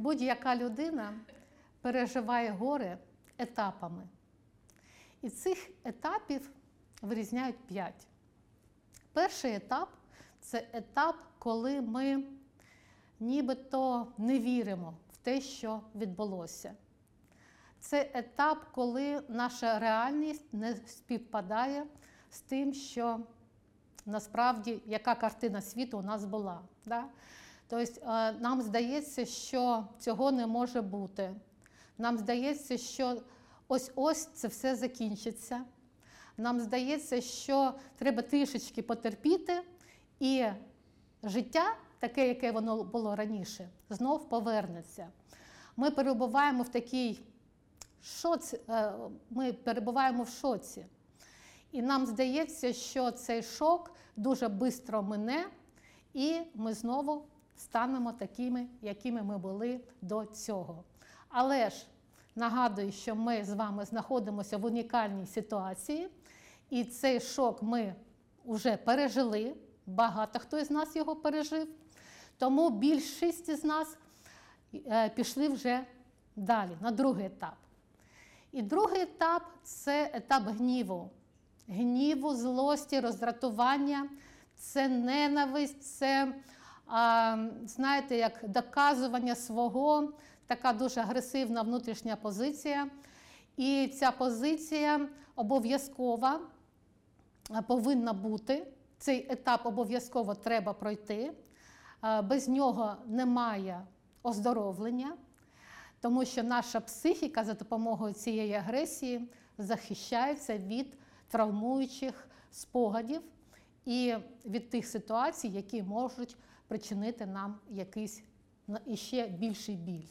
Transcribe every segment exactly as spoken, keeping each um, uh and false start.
Будь-яка людина переживає горе етапами. І цих етапів вирізняють п'ять. Перший етап – це етап, коли ми нібито не віримо в те, що відбулося. Це етап, коли наша реальність не співпадає з тим, що насправді, яка картина світу у нас була. Да? Тобто нам здається, що цього не може бути. Нам здається, що ось-ось це все закінчиться. Нам здається, що треба трішечки потерпіти, і життя, таке, яке воно було раніше, знов повернеться. Ми перебуваємо в такій шоці, ми перебуваємо в шоці. І нам здається, що цей шок дуже швидко мине, і ми знову станемо такими, якими ми були до цього. Але ж нагадую, що ми з вами знаходимося в унікальній ситуації, і цей шок ми вже пережили, багато хто із нас його пережив, тому більшість з нас пішли вже далі, на другий етап. І другий етап – це етап гніву. Гніву, злості, роздратування, це ненависть, це, а, знаєте, як доказування свого, така дуже агресивна внутрішня позиція. І ця позиція обов'язково повинна бути, цей етап обов'язково треба пройти, без нього немає оздоровлення, тому що наша психіка за допомогою цієї агресії захищається від травмуючих спогадів і від тих ситуацій, які можуть причинити нам якийсь іще більший біль.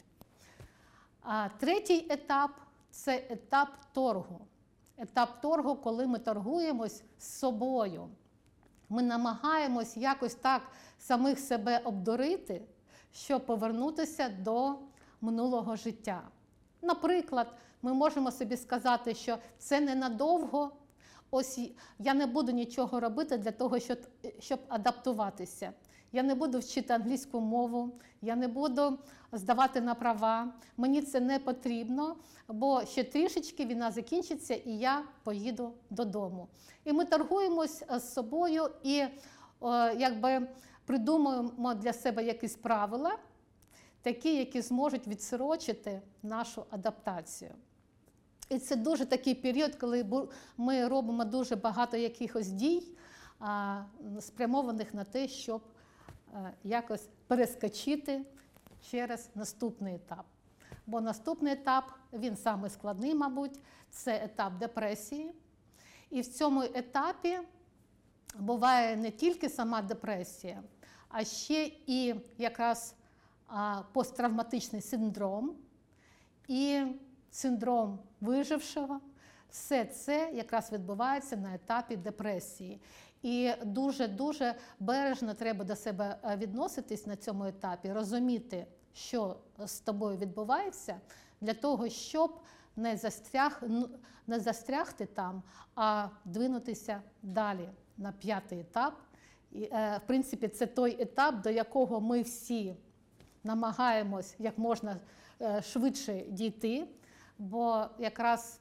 А третій етап – це етап торгу. Етап торгу, коли ми торгуємось з собою. Ми намагаємось якось так самих себе обдурити, щоб повернутися до минулого життя. Наприклад, ми можемо собі сказати, що це ненадовго, ось я не буду нічого робити для того, щоб, щоб адаптуватися. Я не буду вчити англійську мову, я не буду здавати на права, мені це не потрібно, бо ще трішечки війна закінчиться і я поїду додому. І ми торгуємось з собою і о, якби придумуємо для себе якісь правила, такі, які зможуть відсрочити нашу адаптацію. І це дуже такий період, коли ми робимо дуже багато якихось дій, спрямованих на те, щоб якось перескочити через наступний етап. Бо наступний етап, він самий складний, мабуть, це етап депресії. І в цьому етапі буває не тільки сама депресія, а ще і якраз посттравматичний синдром і синдром вижившого. Все це якраз відбувається на етапі депресії. І дуже-дуже бережно треба до себе відноситись на цьому етапі, розуміти, що з тобою відбувається, для того, щоб не, застряг, не застрягти там, а двинутися далі на п'ятий етап. І, в принципі, це той етап, до якого ми всі намагаємось як можна швидше дійти, бо якраз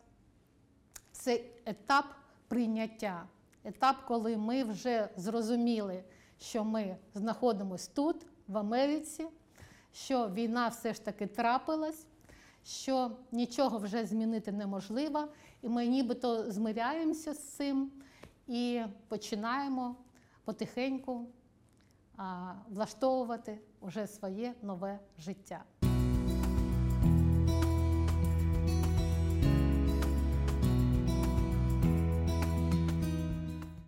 це етап прийняття, етап, коли ми вже зрозуміли, що ми знаходимося тут, в Америці, що війна все ж таки трапилась, що нічого вже змінити неможливо, і ми нібито змиряємося з цим і починаємо потихеньку а, влаштовувати вже своє нове життя.